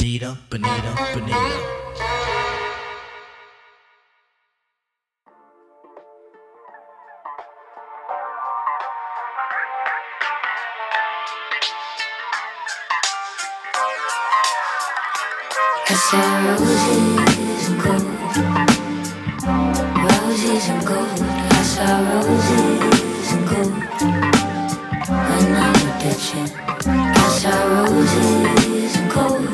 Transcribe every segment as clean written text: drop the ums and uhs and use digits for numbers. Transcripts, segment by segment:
Bonita, Bonita, Bonita. I saw roses and gold, roses and gold. I saw roses and gold when I looked at you. I saw roses and gold,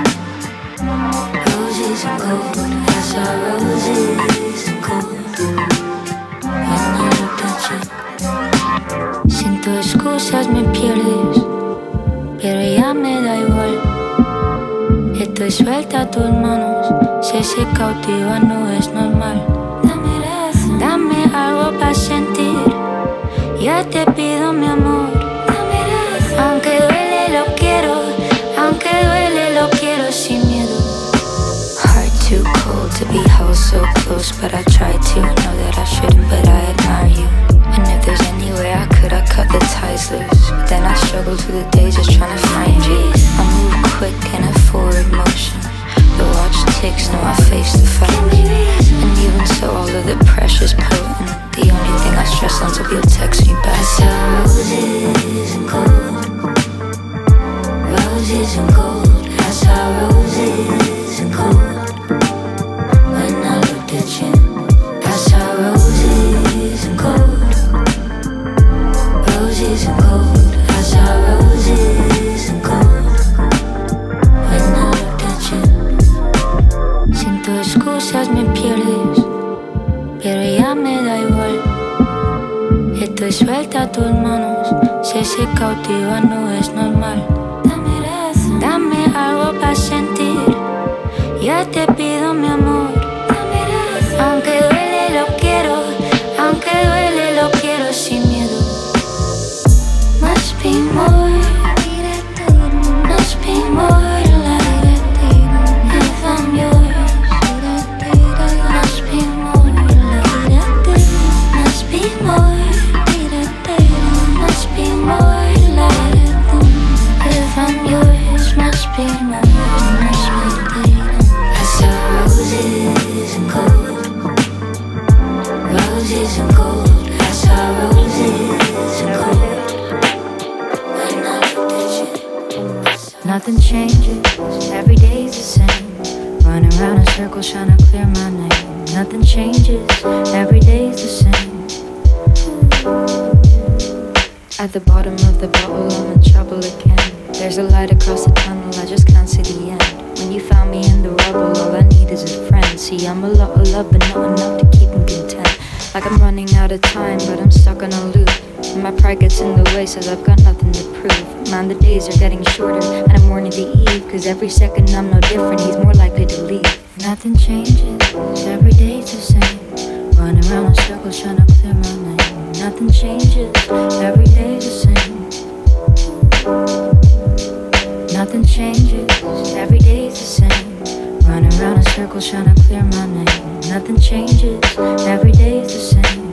roses and gold. I saw roses and gold when I looked at you. Sin tus excusas me pierdes, pero ya me da igual. Estoy suelta a tus manos, si se cautiva no es normal. Dame algo para sentir, ya te pido mi amor. Aunque duele lo quiero, aunque duele lo quiero sin miedo. Heart too cold to be held so close, but I try to, know that I shouldn't, but I admire you. And if there's any way I could, I cut the ties loose. But then I struggle through the days just trying to find you. I move quick in a forward motion. The watch ticks, know I face the fight. And even so, all of the pressure's potent. The only thing I stress on till you'll text me back. I saw roses and gold, roses and gold. I saw roses and gold when I looked at you. I saw roses and gold, roses and gold. I saw roses and gold when I looked at you. Sin tus excusas me pierdes, pero ya me da igual. Estoy suelta a tus manos, si se cautiva no es normal. Dame algo para sentir, ya te pido mi amor. Aunque duele lo quiero, aunque duele lo quiero sin miedo. Must be more, must be more to life. If I'm yours, must be more to life. Must be more, must be more to life. If I'm yours, must be more, must be more. I saw roses and gold, roses and gold. I saw roses and gold when I looked at you. Nothing changes, every day's the same. Running around in circles trying to clear my name. Nothing changes, every day's the same. At the bottom of the bottle, I'm in trouble again. There's a light across the tunnel, I just can't see the end. When you found me in the rubble, all I need is a friend. See, I'm a lot of love, but not enough to keep me content. Like I'm running out of time, but I'm stuck on a loop. And my pride gets in the way, says I've got nothing to prove. Man, the days are getting shorter, and I'm mourning the eve. Cause every second I'm no different, he's more likely to leave. Nothing changes, every day's the same. Running around in circles trying to clear my name. Nothing changes, every day's the same. Nothing changes, every day's the same. Running around in circles trying to clear my name. Nothing changes, every day's the same.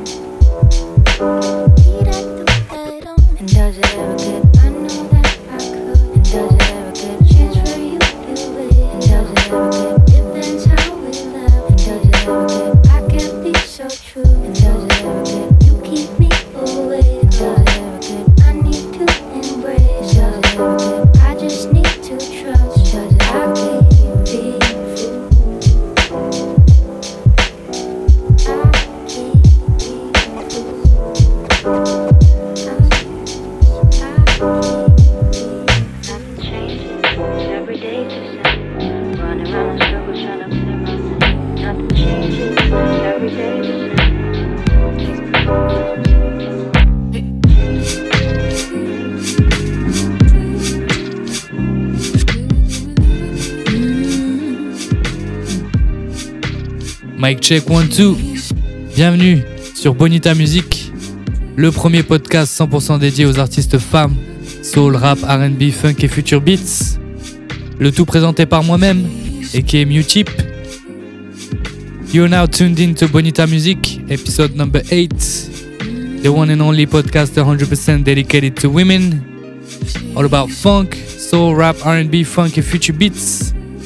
And does it ever get, I know that I could. And does it ever get a chance for you to do it? And does it ever get, depends how we love. And does it ever get, I can't be so true. And does it ever get, you keep me away. And does it ever get, I need to embrace. Does it ever get, I just need to trust. Does it ever get, be Mic check 1, 2. Bienvenue sur Bonita Music, le premier podcast 100% dédié aux artistes femmes, soul, rap, R&B, funk et future beats. Le tout présenté par moi-même, aka Mewcheap. You're now tuned in to Bonita Music, episode number 8. The one and only podcast 100% dedicated to women. All about funk, soul, rap, R&B, funk et future beats.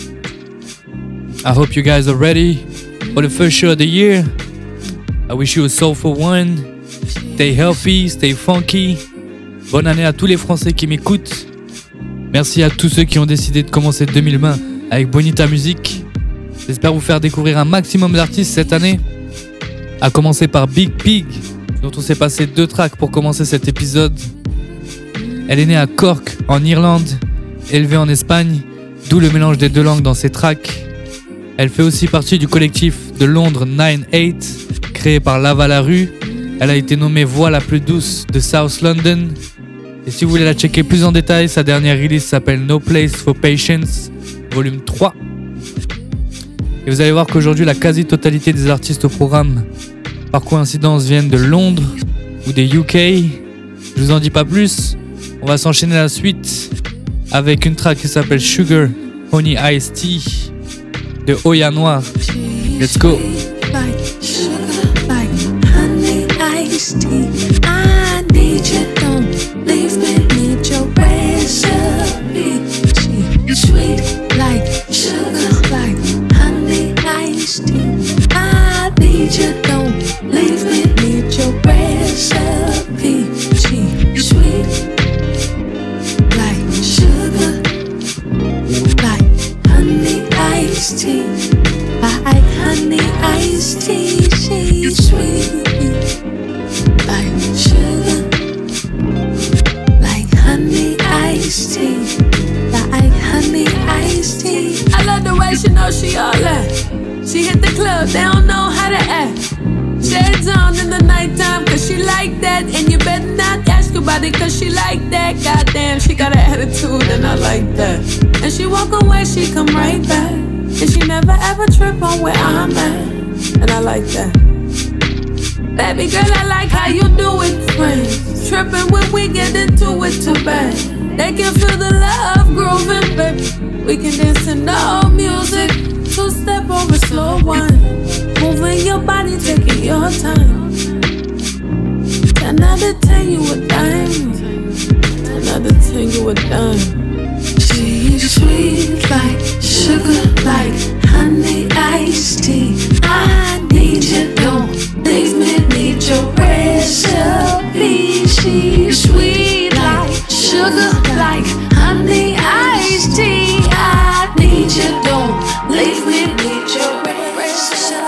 I hope you guys are ready for the first show of the year. I wish you a soulful one. Stay healthy, stay funky. Bonne année à tous les Français qui m'écoutent. Merci à tous ceux qui ont décidé de commencer 2020 avec Bonita Music. J'espère vous faire découvrir un maximum d'artistes cette année. À commencer par Big Pig, dont on s'est passé 2 tracks pour commencer cet épisode. Elle est née à Cork, en Irlande, élevée en Espagne, d'où le mélange des 2 langues dans ses tracks. Elle fait aussi partie du collectif de Londres 9-8, créé par Lava La Rue. Elle a été nommée voix la plus douce de South London. Et si vous voulez la checker plus en détail, sa dernière release s'appelle No Place for Patience, volume 3. Et vous allez voir qu'aujourd'hui, la quasi-totalité des artistes au programme, par coïncidence, viennent de Londres ou des UK. Je vous en dis pas plus. On va s'enchaîner la suite avec une track qui s'appelle Sugar Honey Iced Tea de Oya Noir. Let's go. Like sugar, like honey iced tea. I need you, don't leave me, need your recipe. Sweet like sugar, like honey iced tea. I need you, don't leave me, need your recipe. Sweet like sugar, like honey iced tea. Like honey iced tea, she's sweet. Like sugar, like honey iced tea. Like honey iced tea. I love the way she knows she all that. She hit the club, they don't know how to act. Shades on in the nighttime, cause she like that. And you better not ask about it, cause she like that. Goddamn, she got an attitude and I like that. And she walk away, she come right back. And she never ever trip on where I'm at. And I like that. Baby girl, I like how you do it, friends. Tripping when we get into it too bad. They can feel the love grooving, baby. We can dance to no music. 2-step over slow one. Moving your body, taking your time. 10 out of 10, you a dime. 10 out of 10, you a dime. She's sweet like sugar, like honey iced tea. I need you, don't leave me, need your recipe. She's sweet like sugar, like honey iced tea. I need you, don't leave me, need your recipe.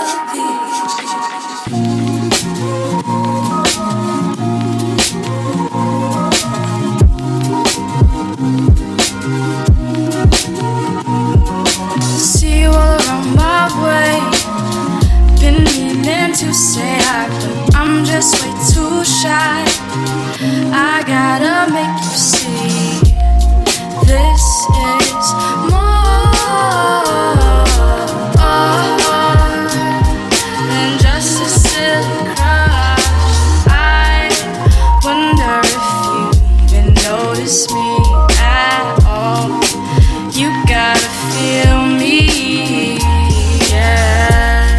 To say I'm just way too shy. I gotta make you see this is more than just a silly crush. I wonder if you even notice me at all. You gotta feel me, yeah.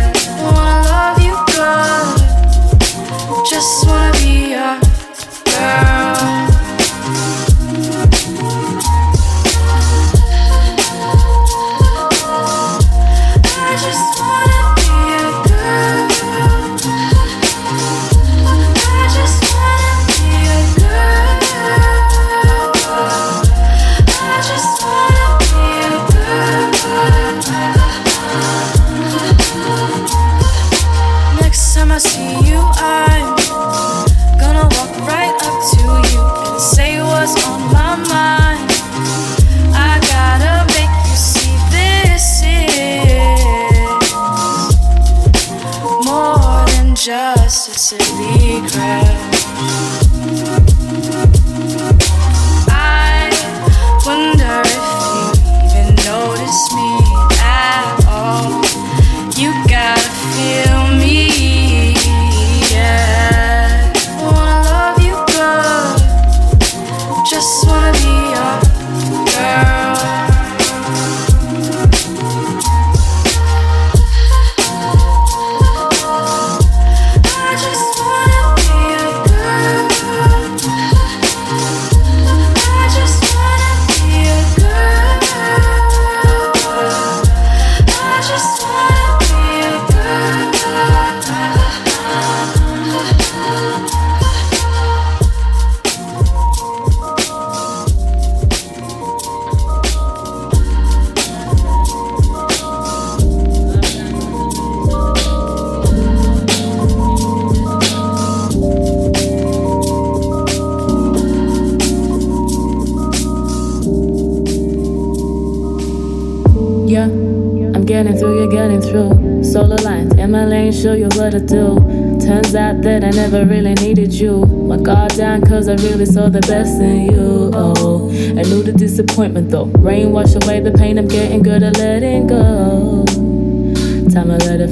Just wanna be your girl. I just wanna be your girl. I just wanna be your girl. I just wanna be your girl. Next time I see you, I'm gonna walk right up to you and say what's on my mind. I gotta make you see this is more than just a silly crush. I wonder if you even notice me at all. You gotta feel me, yeah. Wanna love you good. Just wanna be your girl. I just wanna be your girl. getting through, you're getting through. Solar lines in my lane, show you what to do. Turns out that I never really needed you. My guard down cause I really saw the best in you. Oh, I knew the disappointment though. Rain wash away the pain, I'm getting good at letting go. Time to let it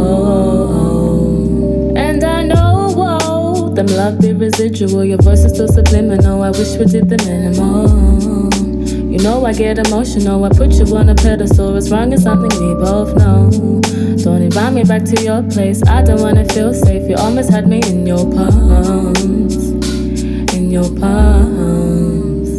flow. And I know, whoa, them love be residual. Your voice is still subliminal, I wish we did the minimum. You know I get emotional, I put you on a pedestal. What's wrong is something we both know. Don't invite me back to your place, I don't wanna feel safe. You almost had me in your palms. In your palms.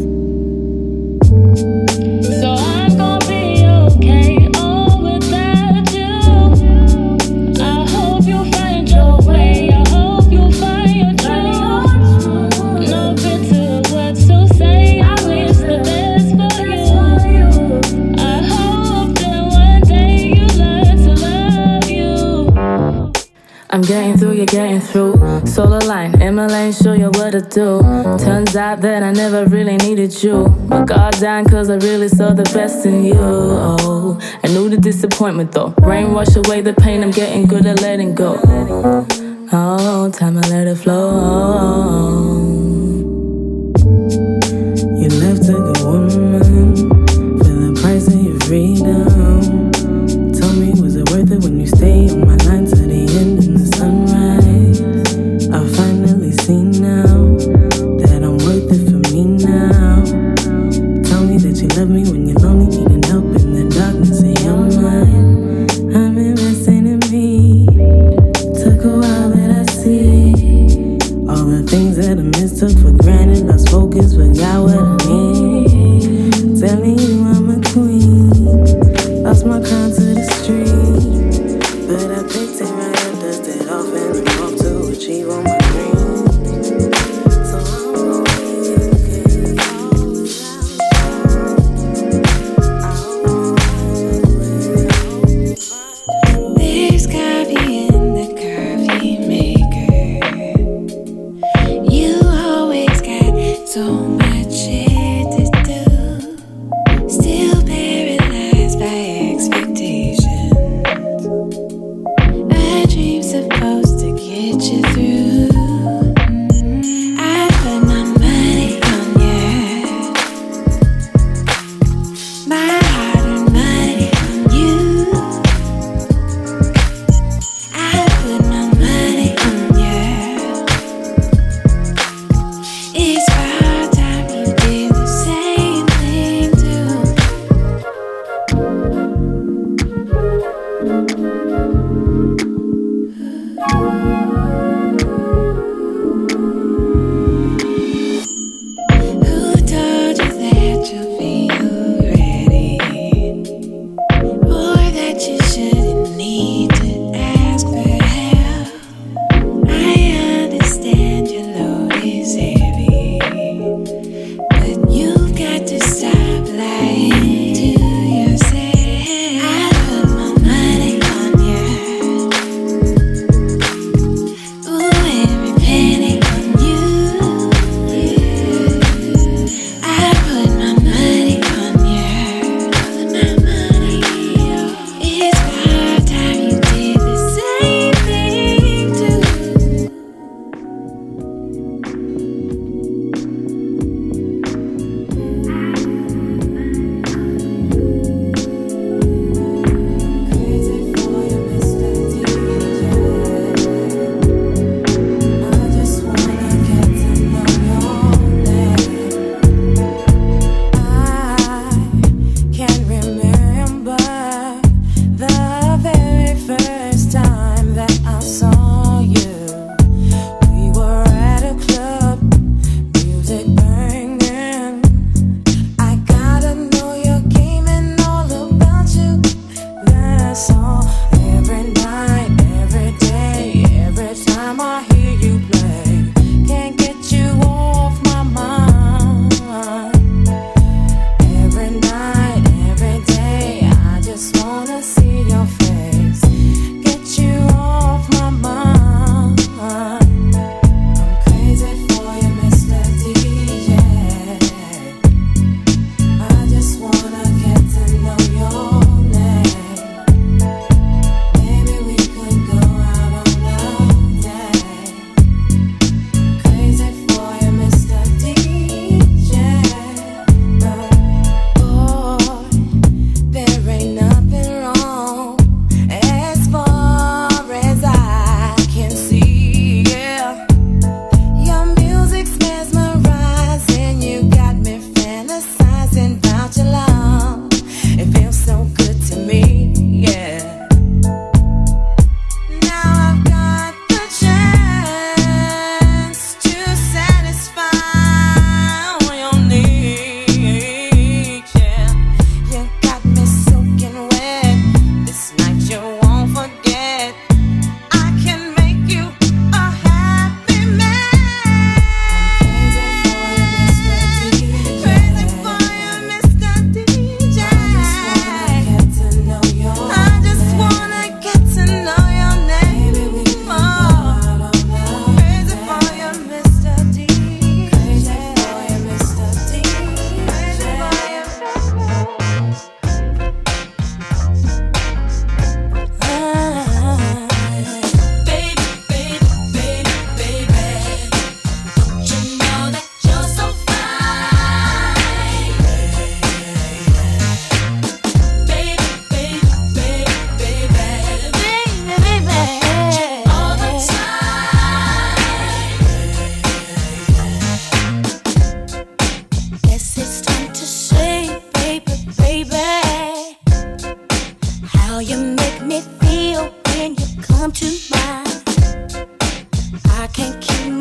So I'm gonna be okay, all without you. I hope you find your way, I hope you find your truth. No bitter words to say, I wish the best for you. I hope that one day you learn to love you. I'm getting through, you're getting through. Solar line, in my lane, show you what to do. Turns out that I never really needed you. My guard down cause I really saw the best in you. Oh, I knew the disappointment though. Rain wash away the pain, I'm getting good at letting go. Oh, time to let it flow. You left a good woman for the price of your freedom. Tell me, was it worth it when you stayed on my line to the end in the sunrise? I finally see now that I'm worth it for me now. Tell me that you love me when you're lonely, needing help in the darkness of your mind. I'm investing in me. Took a while, but I see all the things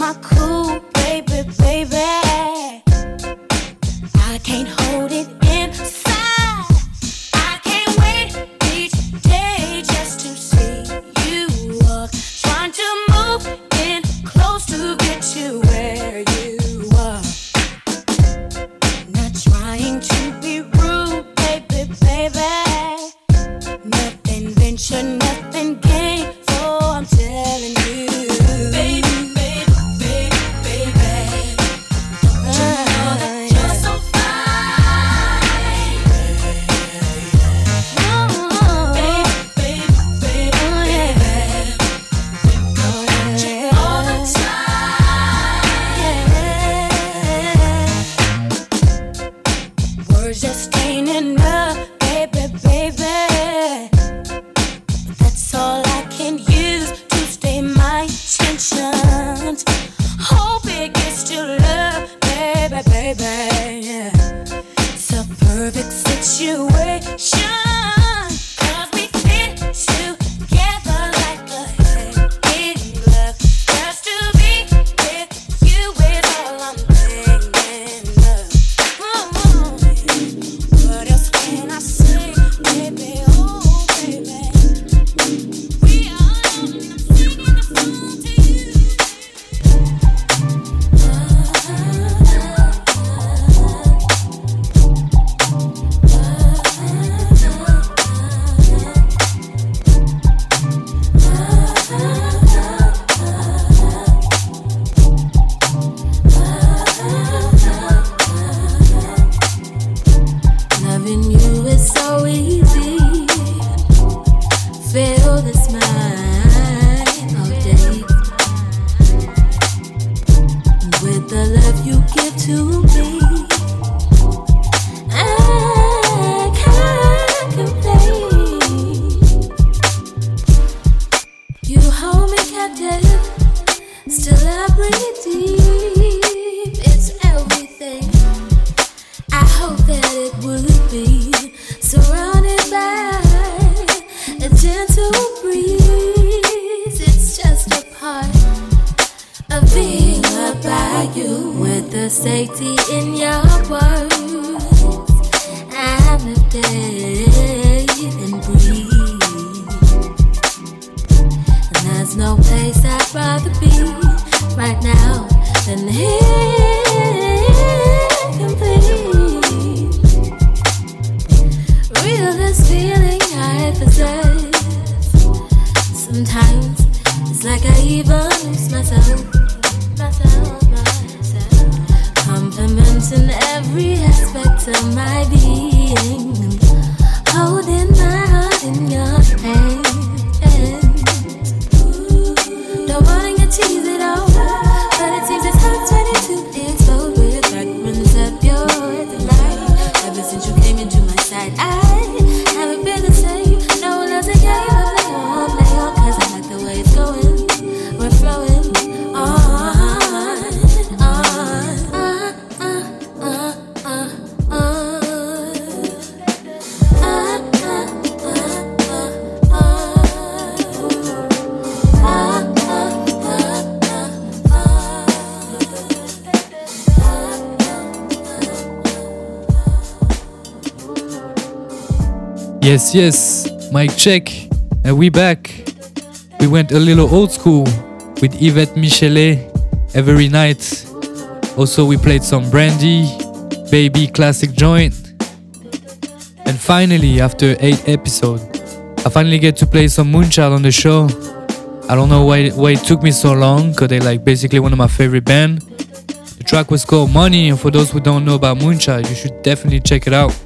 my cool, baby, baby. I can't hold it inside. I can't wait each day just to see you walk. Trying to move in close to get to where you are. Not trying to be rude, baby, baby. Nothing venture, nothing gain. So I'm telling you, baby, baby, baby, baby. Don't you know that you're so fine? Baby, baby, baby, baby. Think about you all the time. Words just ain't enough, baby, baby. That's all I can use to stay my tension. Hope it gets to love, baby, baby. Yeah. It's a perfect situation. 'Cause we fit together like a hand in glove. Just to be with you is all I'm thinking of. What else can I say, baby? Oh, baby. We are alone and I'm singing the song to you. Loving you is so easy. Feel this mind all day. With the love you give to me, I can't complain. You hold me captive, still I breathe deep. It's everything I hope that it would be, surrounded by a gentle breeze. It's just a part of being loved by you, with the safety in your words. I'm a day and breathe, and there's no place I'd rather be right now than here, complete. Real this feeling I possess. Sometimes it's like I even lose myself. Compliments in every aspect of my being. Holding my heart in your hand. Don't wanna get cheesy though, but it seems it's hard to explode with fragments of your delight. Ever since you came into my sight, I haven't been the same. No one else again, but play on, 'cause I like the way it's going. We're flowing on. Yes, yes, mic check, and we back. We went a little old school with Yvette Michelet, Every Night. Also, we played some Brandy, Baby classic joint. And finally, after 8 episodes, I finally get to play some Moonchild on the show. I don't know why it took me so long, because they're like basically one of my favorite bands. The track was called Money, and for those who don't know about Moonchild, you should definitely check it out.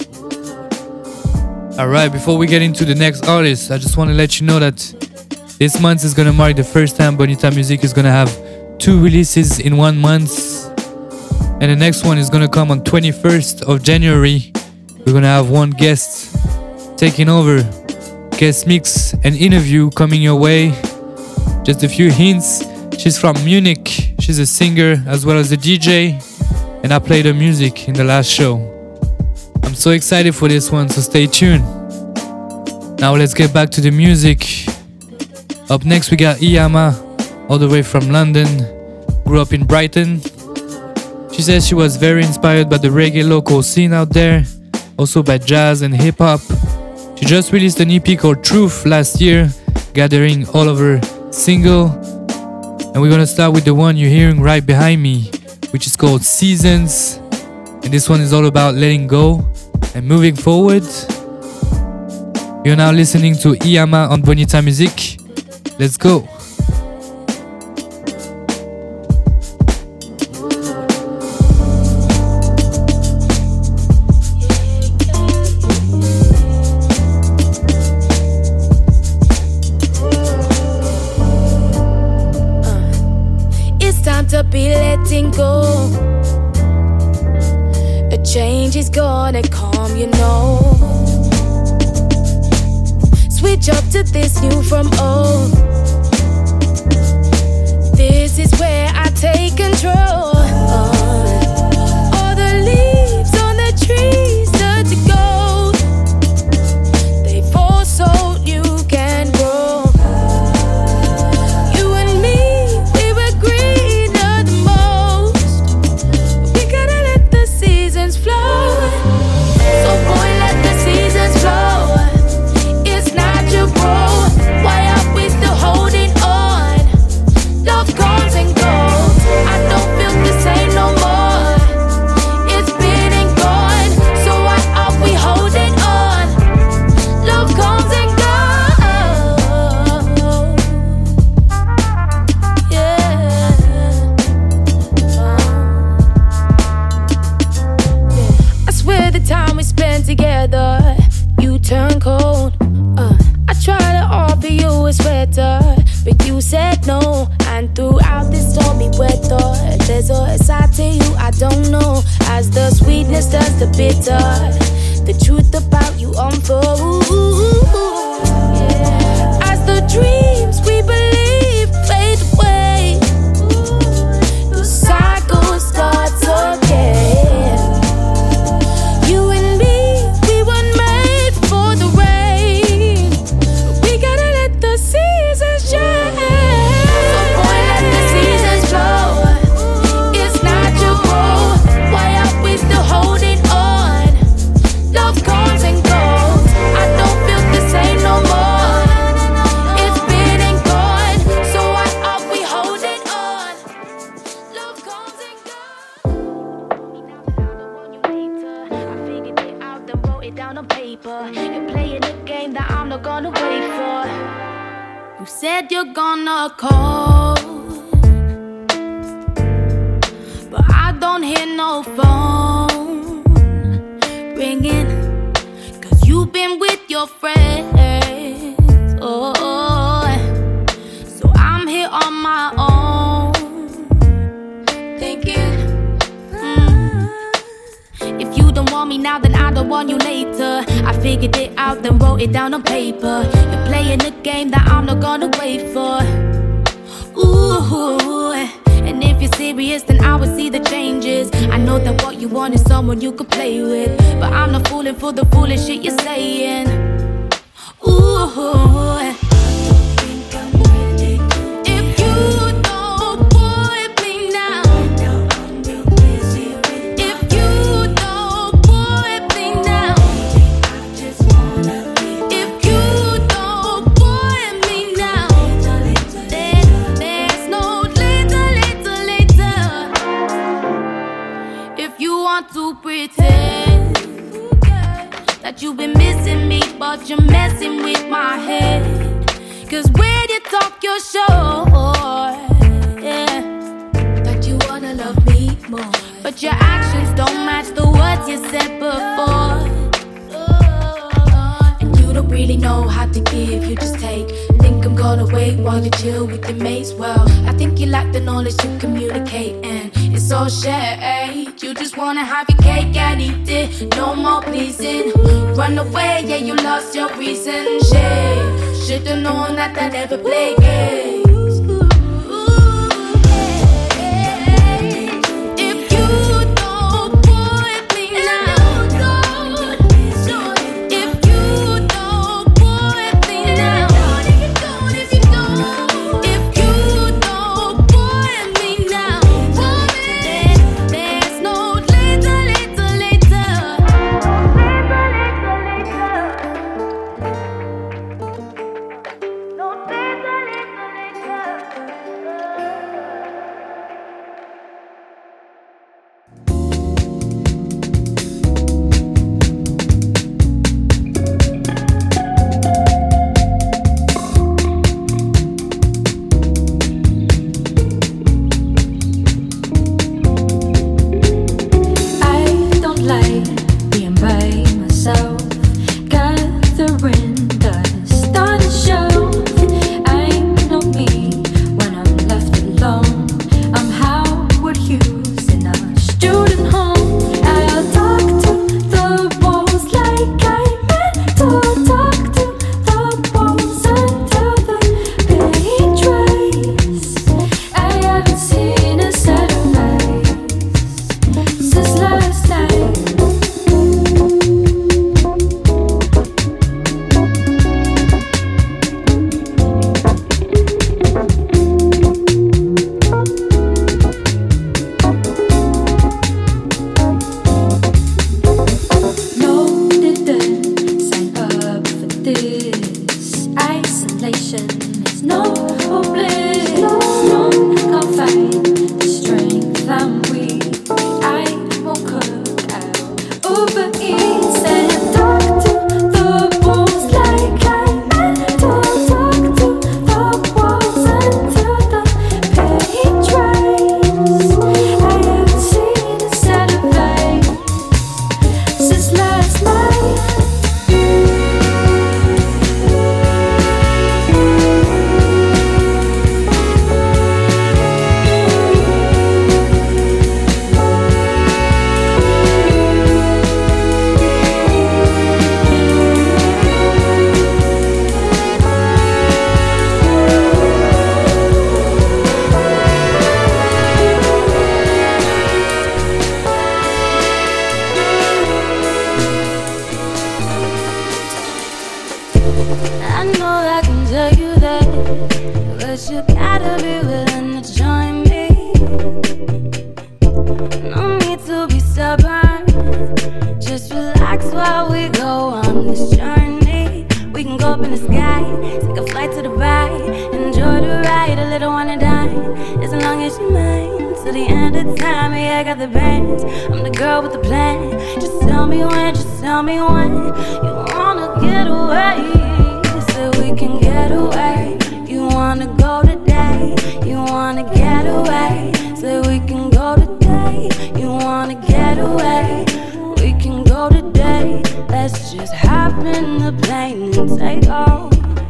Alright, before we get into the next artist, I just want to let you know that this month is going to mark the first time Bonita Music is going to have 2 releases in 1 month. And the next one is going to come on 21st of January. We're going to have one guest taking over. Guest mix and interview coming your way. Just a few hints. She's from Munich. She's a singer as well as a DJ. And I played her music in the last show. I'm so excited for this one, so stay tuned. Now let's get back to the music. Up next we got Iyama, all the way from London. grew up in Brighton. She says she was very inspired by the reggae local scene out there, also by jazz and hip-hop. She just released an EP called Truth last year, gathering all of her single. And we're gonna start with the one you're hearing right behind me, which is called Seasons. And this one is all about letting go and moving forward. You're now listening to Iyama on Bonita Music. Let's go. It's time to be letting go. A change is gonna come, you know. Switch up to this new from old. This is where I take control. All the leaves on the trees turn to gold. They fall so you can grow. You and me, we were greener the most. We gotta let the seasons flow. So boy, let the seasons flow. Why are we still holding on? Love comes and goes. I don't feel the same no more. It's been and gone. So why are we holding on? Love comes and goes. Yeah. I swear the time we spent together, you turn cold. I tried to offer you a sweater, but you said no. And throughout this stormy weather, there's a side to you I don't know. As the sweetness does the bitter, the truth about you unfolds. As the dreams we believe fade away, the cycle starts again. You and me, we weren't made for the rain. We gotta let the seasons shine. So boy, let the seasons flow. It's natural. Why are we still holding on? Love comes and goes. I don't feel the same no more. It's been and gone. So why are we holding on? Love comes and goes. I figured it out, then wrote it down on paper. You're playing a game that I'm not gonna wait for. You said you're gonna call, but I don't hear no phone ringing. Cause you've been with your friends. Oh, so I'm here on my own, thinking, if you don't want me now, then I don't want you later. I figured it out, then wrote it down on paper. You're playing a game that I'm not gonna wait for. Ooh, and if you're serious, then I will see the changes. I know that what you want is someone you could play with, but I'm not falling for the foolish shit you're saying. Ooh, if you don't want me now, if you don't want me now, if you don't want me now, then there's no later. If you want to pretend that you've been missing me, but you're messing with my head. Cause when you talk, you're sure, yeah, that you wanna love me more, but your actions don't match the words you said before. And you don't really know how to give, you just take. Think I'm gonna wait while you chill with your mates. Well, I think you lack the knowledge to communicate, and it's all shared. You just wanna have your cake and eat it, no more pleasing. Run away, yeah, you lost your reason. Should've known that I never play games. If you don't want me now, if you don't want me now, if you don't want me now, to the end of time. Yeah, I got the bands. I'm the girl with the plan. Just tell me when, just tell me when you wanna get away, so we can get away. You wanna go today, you wanna get away, so we can go today. You wanna get away, we can go today. Let's just hop in the plane and take off.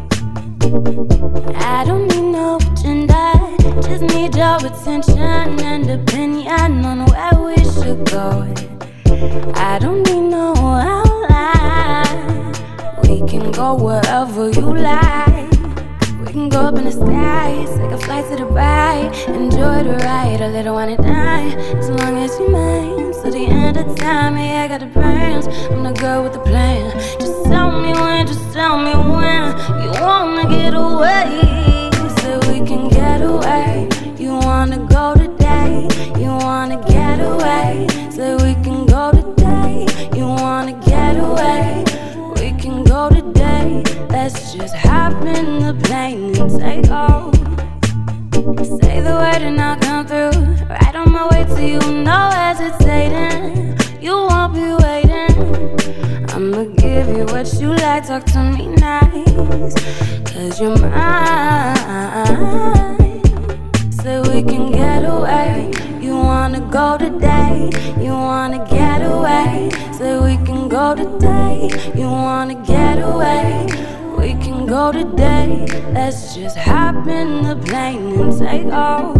I don't need no agenda, just need your attention and opinion on where we should go. I don't need no outline, we can go wherever you like. We can go up in the sky, take a flight to Dubai, enjoy the ride, a little wanna die, as long as you mine. To the end of time, yeah, I got the plans. I'm the girl with the plan. Just tell me when, just tell me when you wanna get away, so we can get away. You wanna go today, you wanna get away, so we can go today. You wanna get away, we can go today. Let's just hop in the plane and take off. Say the word and I'll come through. Right on my way to you, no hesitating. You won't be waiting. I'ma give you what you like, talk to me nice, 'cause you're mine. So we can get away. You wanna go today, you wanna get away, so we can go today. You wanna get away, we can go today. Let's just hop in the plane and take off.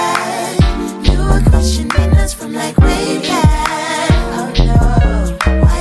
Say that you were questioning us from like way back. Oh no.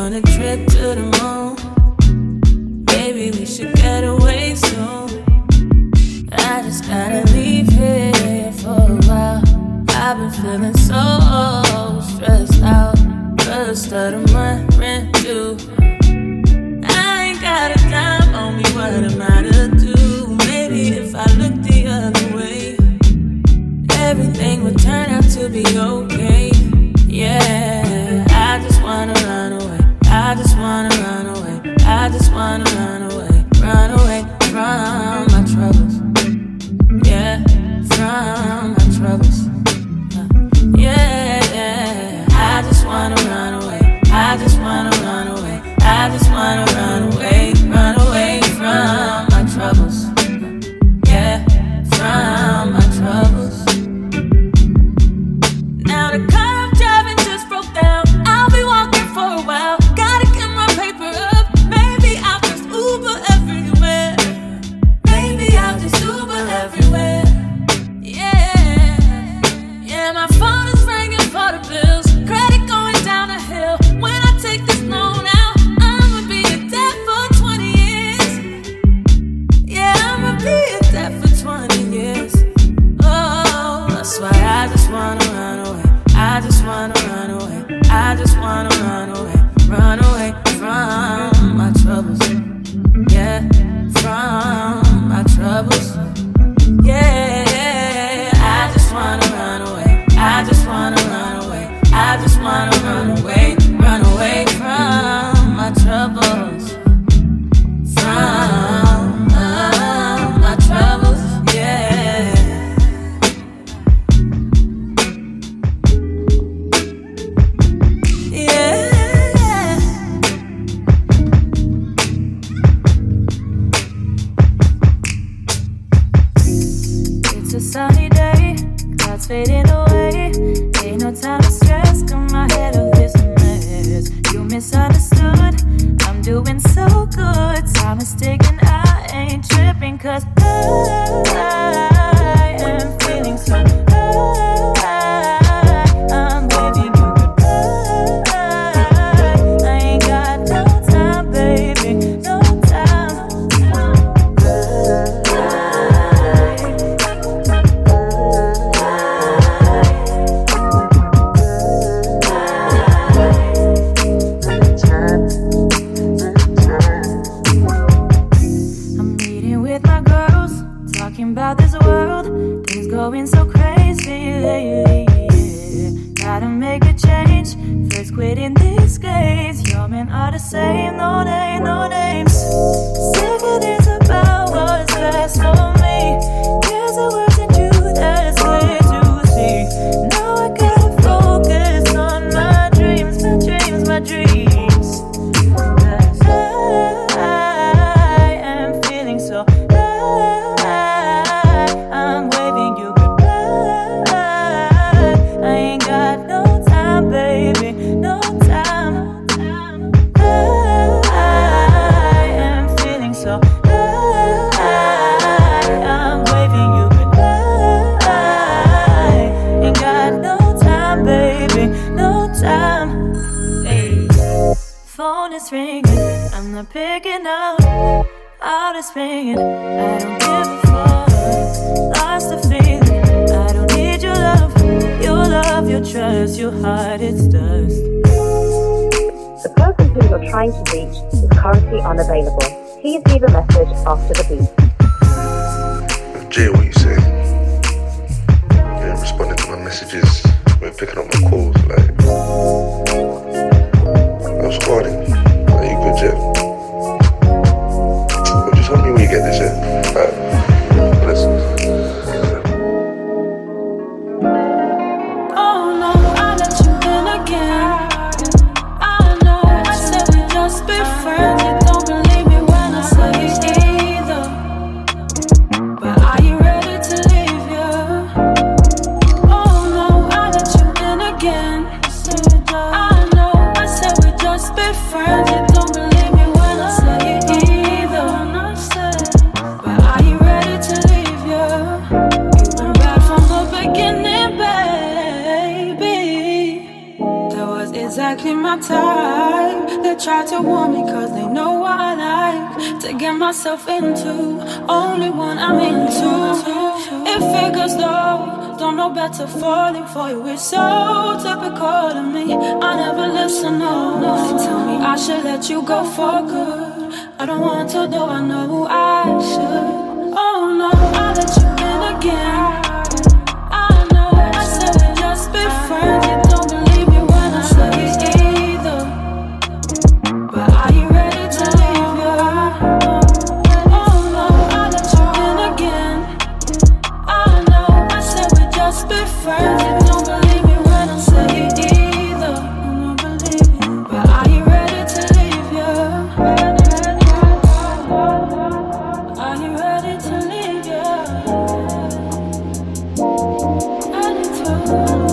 on a trip to the moon. Maybe we should get away soon. I just gotta leave here for a while. I've been feeling so stressed out. First of the month, rent due. I ain't got a dime on me, what am I to do? Maybe if I look the other way, everything would turn out to be okay. Yeah, I just wanna run away. I just wanna run away. I just wanna run away. Run away from my troubles. Yeah, from my troubles. Yeah, I just wanna run away. I just wanna run away. I just wanna run away. Run away from my troubles. Yeah, from my troubles. Now the car I'm driving just broke down. I'll be walking for a while. Gotta get my paper up. Maybe I'll just Uber everywhere. Maybe I'll just Uber everywhere. Yeah, my phone is ringing for the bills. Credit going down the hill. When I take this loan out, I'ma be in debt for 20 years. Yeah, I'ma be in debt for 20 years. Oh, that's why I just wanna run away. I just wanna run away. I just wanna run away. Run away from my troubles. Yeah, from my troubles. Yeah, I just wanna run away. I just wanna run away. I just wanna run away. Run away from my troubles. From my troubles. Yeah. Yeah. It's a sunny day, clouds fading away. Ain't no time to stress, got my head of this mess. You misunderstood, I'm doing so good. Time is ticking, I ain't tripping, cause I am feeling so high. I'm waving you goodbye. I ain't got no time, baby, no time. I'm meeting with my girls, talking about this world. Things going so crazy lately. Yeah. Gotta make a change. First quitting these games. Your men are the same, no name, no names. Second is about what's best for me. There's a words in you that's clear to see. Now I gotta focus on my dreams, my dreams, my dreams. I am feeling so high. I'm waving you goodbye. I ain't got no time, baby, no time. I am feeling so high. I'm waving you goodbye. Ain't got no time, baby, no time. Hey. Phone is ringing, I'm not picking up. Out is ringing, I don't give a fuck. Lost the feeling, I don't need your love, your trust, your heart, it's dust. The person who you're trying to reach is currently unavailable. Please leave a message after the beep. Jay, what you saying? You ain't responding to my messages. You ain't picking up my calls. Like, I was calling. Are you good, Jay? Well, just tell me when you get this, yeah? Alright, listen. Oh no, I let you in again. I know, I said we just be friends. You don't believe me when I say either. But are you ready to leave, yeah? Oh no, I let you in again. exactly my type. They try to warn me cause they know what I like to get myself into. Only one I'm into. It figures though, don't know better, falling for you. It's so typical of me. I never listen, no. They tell me I should let you go for good. I don't want to, though I know I should. Oh no, I'll let you in again. I know, I said we just be friends. You don't believe me when I say it either. But are you ready to leave, yeah? Oh no, I'll let you in again. I know, I said we just be friends. You don't believe me when I say it either. I don't believe it. But are you ready to leave, yeah? Are you ready to leave, yeah? Ready to.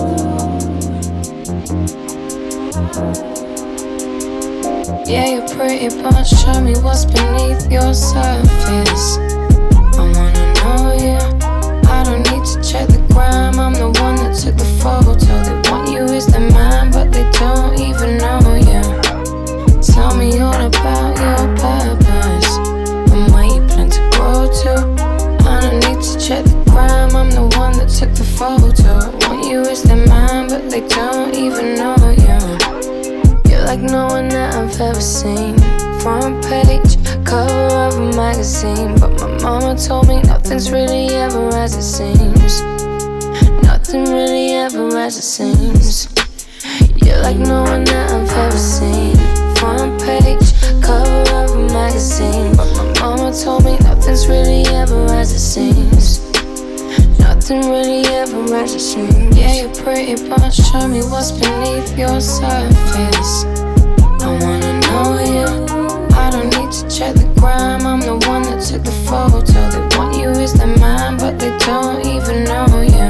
Yeah, you're pretty, but show me what's beneath your surface. I wanna know you. I don't need to check the gram. I'm the one that took the photo. They want you as the man, but they don't even know you. Tell me all about your purpose and where you plan to grow to. I don't need to check the gram. I'm the one that took the photo. Want you as the man, but they don't even know you. You're like no one that I've ever seen. Front page, cover of a magazine. But my mama told me nothing's really ever as it seems. Nothing really ever as it seems. You're like no one that I've ever seen. Front page, cover of a magazine. But my mama told me nothing's really ever as it seems. Nothing really ever as it seems. Yeah, you're pretty, but show me what's beneath your surface. I wanna know you. I don't need to check the gram. I'm the one that took the photo. They want you as the man, but they don't even know you.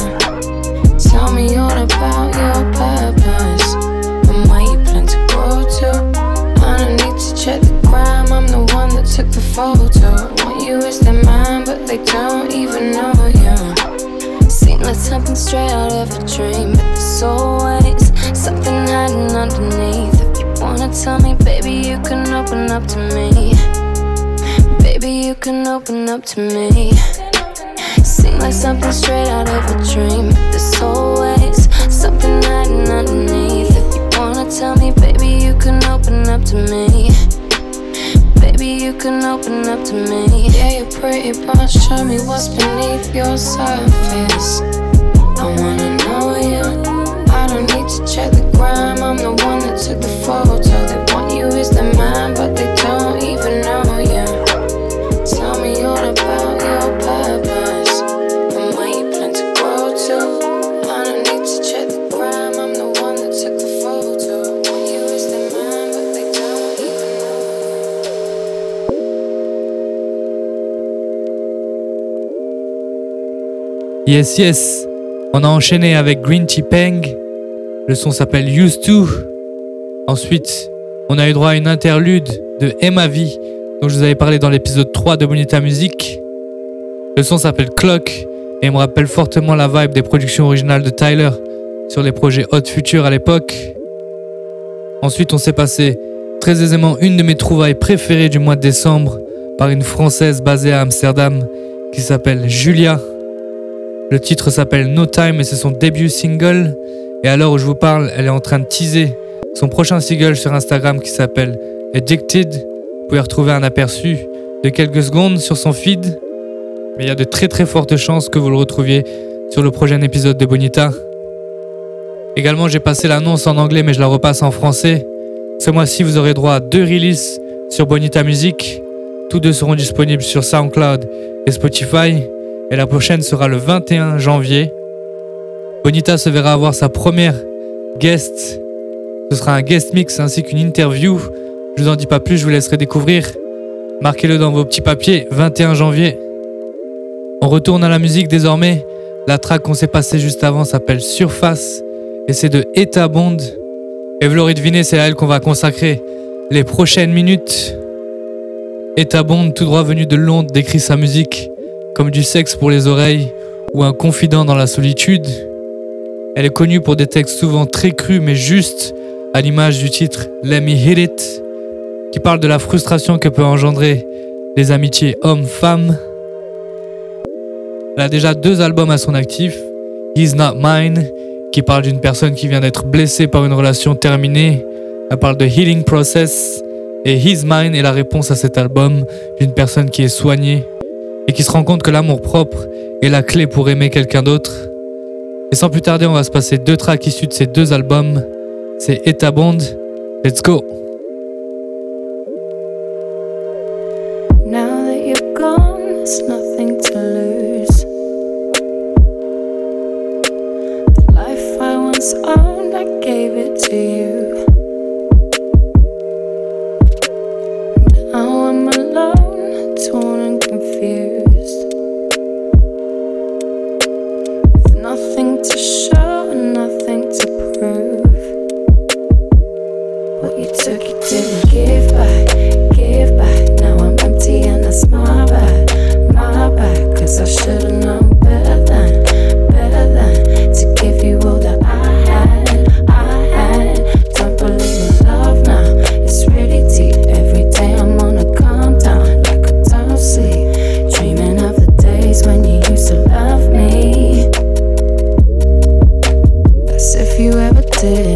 Tell me all about your purpose and where you plan to grow to. I don't need to check the gram. I'm the one that took the photo. Want you as the man, but they don't even know you. Seem like something straight out of a dream, but there's always something hiding underneath. If you wanna tell me, baby, you can open up to me. Baby, you can open up to me. Seem like something straight out of a dream, but there's always something hiding underneath. If you wanna tell me, baby, you can open up to me. Baby, you can open up to me. Yeah, you're pretty, but show me what's beneath your surface. I wanna know you. I don't need to check the gram. I'm the one that took the photo. They want you as the man, but they don't even know you. Tell me all about your purpose and where you plan to grow to. I don't need to check the gram. I'm the one that took the photo. Want you as the man, but they don't even know you. Yes, yes. On a enchaîné avec Green Tea Peng. Le son s'appelle Used To. Ensuite, on a eu droit à une interlude de Emma V, dont je vous avais parlé dans l'épisode 3 de Bonita Music. Le son s'appelle Clock et me rappelle fortement la vibe des productions originales de Tyler sur les projets Hot Future à l'époque. Ensuite, on s'est passé très aisément une de mes trouvailles préférées du mois de décembre par une Française basée à Amsterdam qui s'appelle Julia. Le titre s'appelle No Time et c'est son début single. Et à l'heure où je vous parle, elle est en train de teaser son prochain single sur Instagram qui s'appelle Addicted. Vous pouvez retrouver un aperçu de quelques secondes sur son feed. Mais il y a de très très fortes chances que vous le retrouviez sur le prochain épisode de Bonita. Également, j'ai passé l'annonce en anglais mais je la repasse en français. Ce mois-ci, vous aurez droit à 2 releases sur Bonita Music. Tous deux seront disponibles sur SoundCloud et Spotify. Et la prochaine sera le 21 janvier. Bonita se verra avoir sa première guest. Ce sera un guest mix ainsi qu'une interview. Je vous en dis pas plus, je vous laisserai découvrir. Marquez-le dans vos petits papiers, 21 janvier. On retourne à la musique désormais. La track qu'on s'est passée juste avant s'appelle Surface et c'est de Etta Bond. Et vous l'aurez deviné, c'est à elle qu'on va consacrer les prochaines minutes. Etta Bond, tout droit venu de Londres, décrit sa musique comme du sexe pour les oreilles ou un confident dans la solitude. Elle est connue pour des textes souvent très crus mais justes, à l'image du titre Let Me Hit It, qui parle de la frustration que peut engendrer les amitiés hommes-femmes. Elle a déjà 2 albums à son actif, He's Not Mine, qui parle d'une personne qui vient d'être blessée par une relation terminée. Elle parle de Healing Process, et He's Mine est la réponse à cet album d'une personne qui est soignée et qui se rend compte que l'amour propre est la clé pour aimer quelqu'un d'autre. Et sans plus tarder, on va se passer 2 tracks issus de ces 2 albums. C'est Etta Bond, let's go. Now that you're gone, there's nothing to lose. The life I once owned, I gave it to you. Now I'm alone, torn and confused, with nothing to show and nothing to prove. What you took, you didn't give back, give back. Now I'm empty and that's my bad, cause I should've known better than to give you all that I had. Don't believe in love now, it's really deep. Every day I'm on a calm down, like I don't sleep, dreaming of the days when you used to love me. That's if you ever did.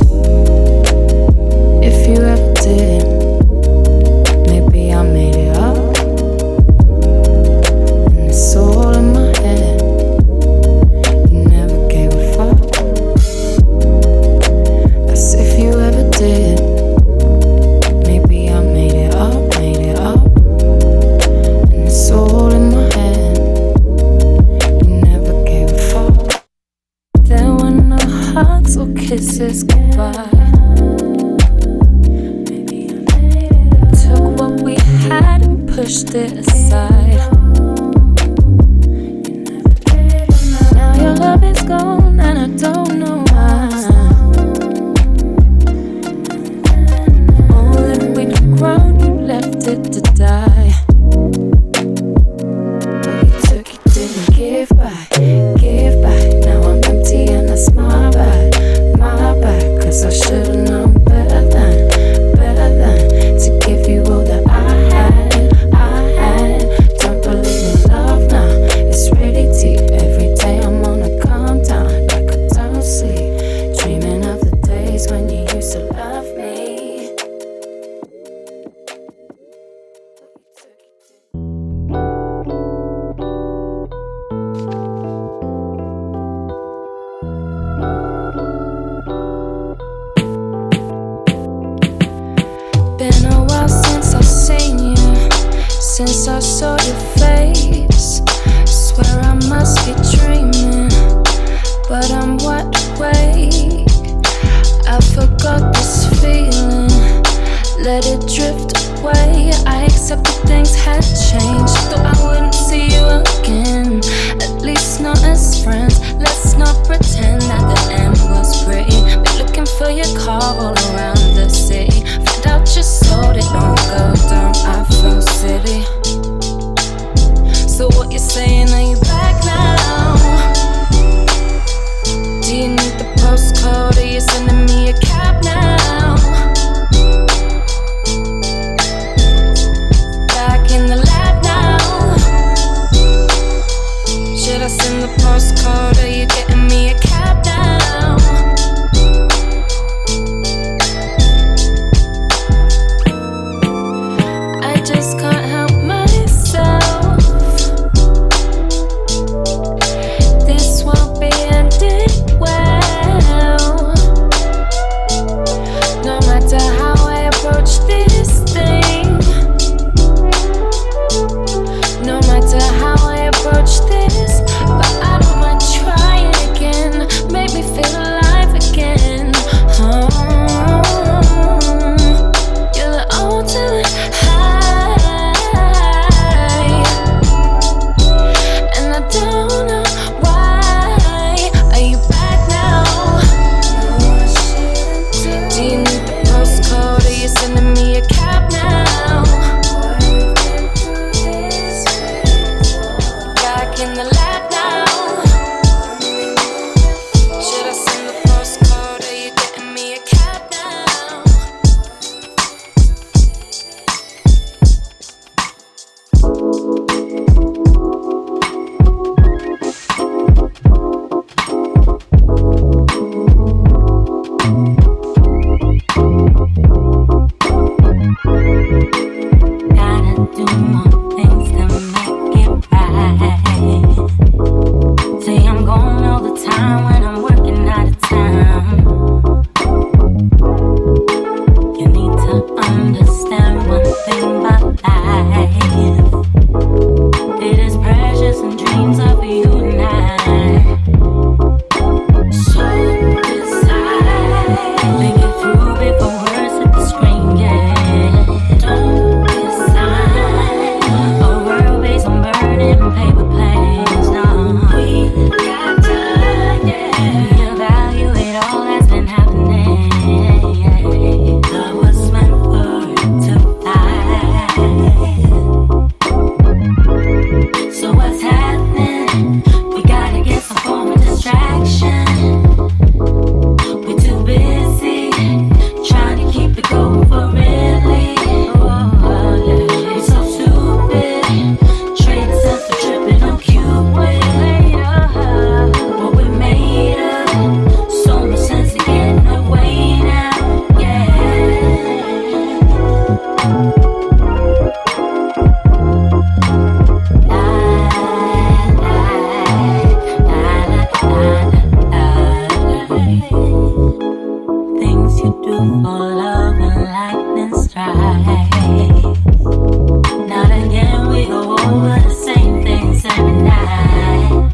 If you ever did, maybe I made it up, and it's all in my head. You never gave a fuck. That's if you ever did. Maybe I made it up, and it's all in my head. You never gave a fuck. There were no hugs or kisses goodbye. Had and pushed it aside. Now your love is gone and I don't know why. All that we'd grown, you left it to die. What you took, you didn't give back, give back. Now I'm empty and that's my bad, cause I should've known better than to give you all that I had. Don't believe in love now, it's really deep. Every day I'm on a calm down, like I don't sleep, dreaming of the days when you used to love me. Been a while since I've seen you, since I saw your face. Swear I must be dreaming, but I'm wide awake. I forgot this feeling, let it drift away. I accepted things had changed, thought I wouldn't see you again, at least not as friends. Let's not pretend that the end was pretty. Been looking for your car all around the city, found out you sold it, don't go down, I feel silly. So what you saying, are you back now? Do you need the postcode, are you sending me a cab now? Back in the lab now. Should I send the postcode, are you getting me a cab now? I just can't help myself. This won't be ending well. No matter how I approach this thing, no matter how I approach this, but I don't mind trying again. Make me feel alive again. You're the ultimate high, and I don't know why. Are you back now? Do you need the postcode, are you sending me a cab now? Back in the lab now. Should I send the postcode, are you getting me a cab now? full of a lightning strike. Not again, we go over the same things every night.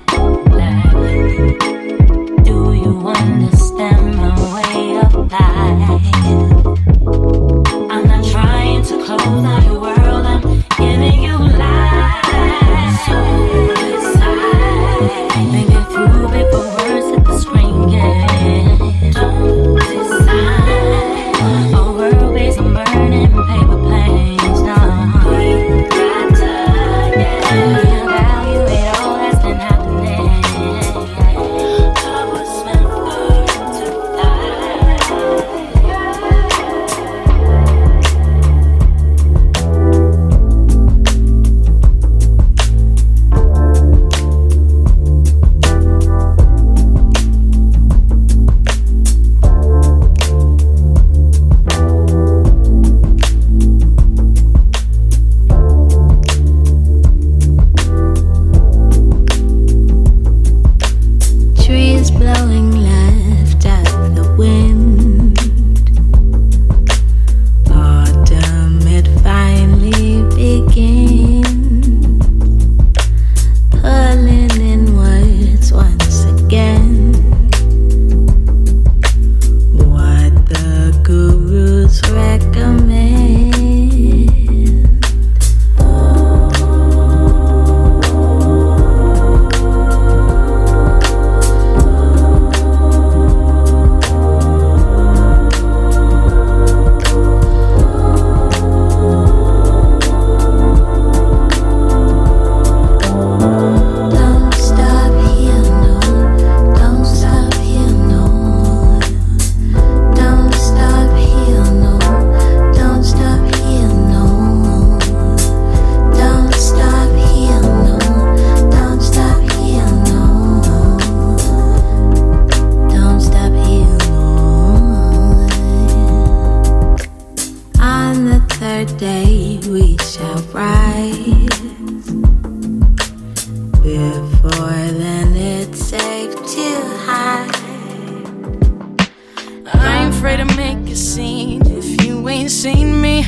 Like, do you understand my way of life? I'm not trying to close down your world, I'm giving you life. So decide, think it through before words hit the screen, yeah. Don't decide, a world based on burning paper planes, no. We got to evaluate all that's been happening. Love was meant for to die. Trees blowing left at the wind. Autumn, it finally begins. Pulling inwards once again. What the gurus recommend. Don't stop here, no. Don't stop here, no. Don't stop here, no. Don't stop here, no. Don't stop here, no. Don't stop here, no. Don't stop here, no. On the third day we shall rise. Before then it's safe to hide. I ain't afraid to make a scene if you ain't seen me.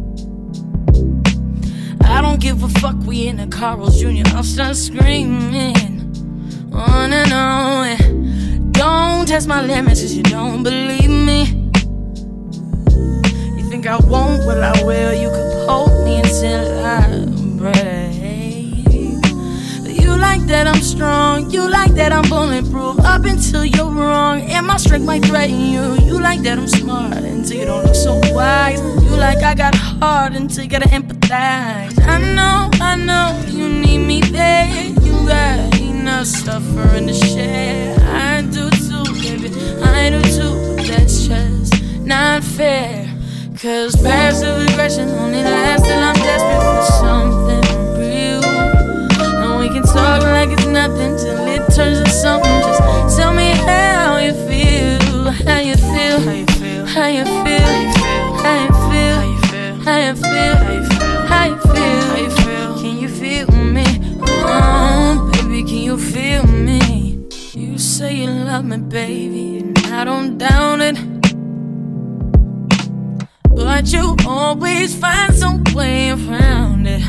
I don't give a fuck, we in a Carl's Jr. I'll start screaming on and on. Don't test my limits if you don't believe me. You think I won't? Well, I will. You could hold me until I break. You like that I'm strong, you like that I'm bulletproof. Up until you're wrong, and my strength might threaten you. You like that I'm smart until you don't look so wise. You like I got hard until you gotta empathize. I know, you need me there. You got enough suffering to share. I do too, baby, I do too. But that's just not fair. Cause passive aggression only lasts till I'm desperate for something real. And we can talk like it's nothing till it turns to something. Just tell me how you feel, how you feel, how you feel, how you feel, how you feel, how you feel, how you feel, how you feel. Can you feel me? Oh, baby, can you feel me? You say you love me, baby, and I don't doubt it. But you always find some way around it.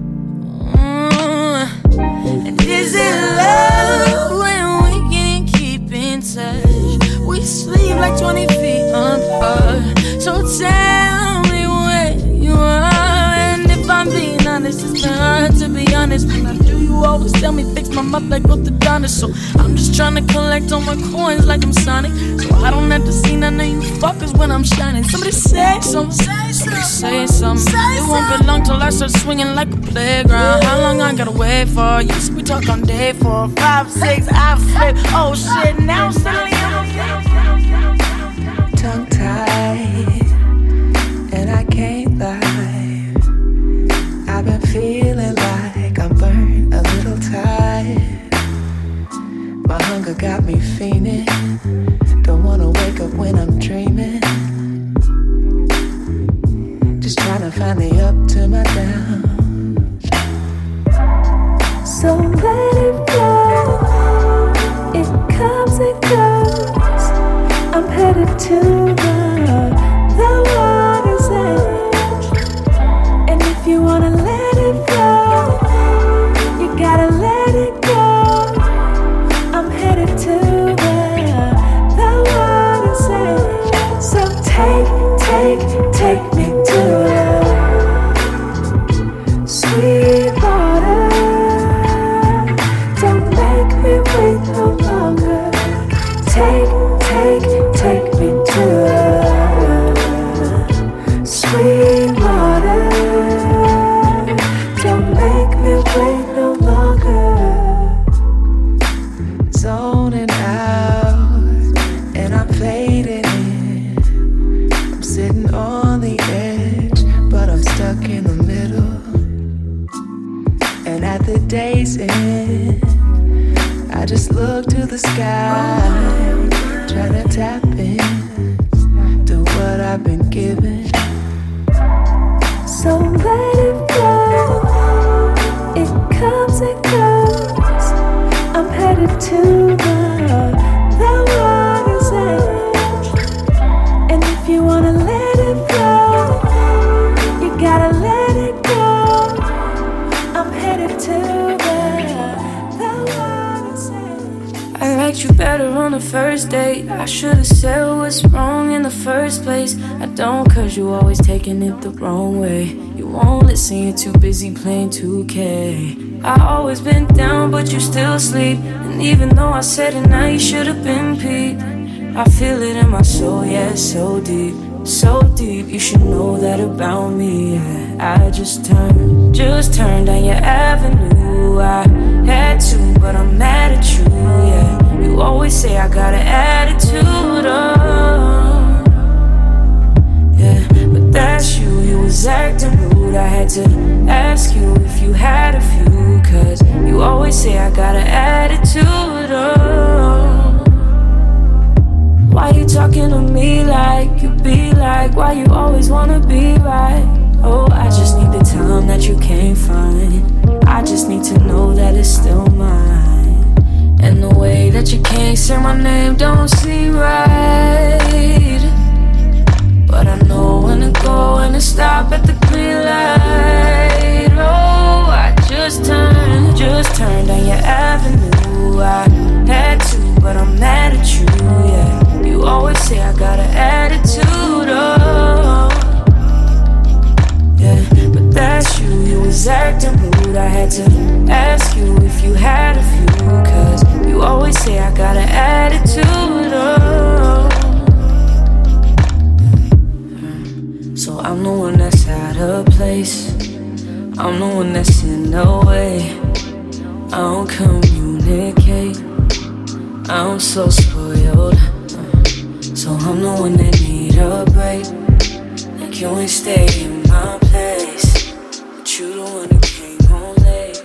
And is it love when we can't keep in touch? We sleep like 20 feet apart. So tell me where you are. And if I'm being honest, it's hard to be honest. When I do, you always tell me fix my mouth like orthodontist. So I'm just trying to collect all my coins like I'm Sonic, so I don't have to see none of you fuckers when I'm shining. Somebody say something, somebody say something. It won't be long till I start swinging like a playground. How long I gotta wait for? Yes, we talk on day 4, 5, 6, I flip. Oh shit, now suddenly tongue tied, and I can't lie. I've been feeling like I'm burned, a little tired. My hunger got me fiending. Don't wanna wake up when I'm dreaming. Just trying to find the up to my down. So let it go. It comes and goes. I'm headed to the sitting on the edge, but I'm stuck in the middle. And at the day's end, I just look to the sky, try to tap in to what I've been given. So let it flow, it comes and goes. I'm headed to the water's edge. And if you wanna let it flow, you gotta let it go. I'm headed to the water's edge. I liked you better on the first date. I should've said what's wrong in the first place. I don't, cause you always taking it the wrong way. You won't listen, you're too busy playing 2K. I always been down, but you still sleep. And even though I said it now, you should've been peeped. I feel it in my soul, yeah, it's so deep. So deep, you should know that about me, yeah. I just turned down your avenue. I had to, but I'm mad at you, yeah. You always say I got an attitude, oh, yeah. But that's you was acting rude. I had to ask you if you had a few, cause you always say I got an attitude, oh. Why you talking to me like you be like? Why you always wanna be right? Oh, I just need the time that you can't find. I just need to know that it's still mine. And the way that you can't say my name don't seem right. But I know when to go and to stop at the green light. Oh, I just turned down your avenue. I had to, but I'm mad at you, yeah. You always say I got an attitude, oh, yeah. But that's you was acting rude. I had to ask you if you had a few, cause you always say I got an attitude, oh. So I'm the one that's out of place. I'm the one that's in the way. I don't communicate. I'm so spoiled. So I'm the one that need a break. Like you ain't stay in my place, but you the one who came home late.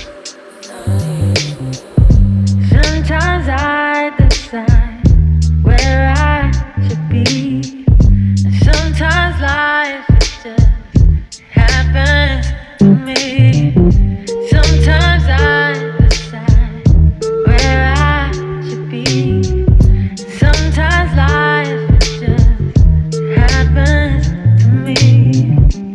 Sometimes I decide where I should be, and sometimes life just happens to me. Sometimes I decide where I should be. Sometimes life just happens to me.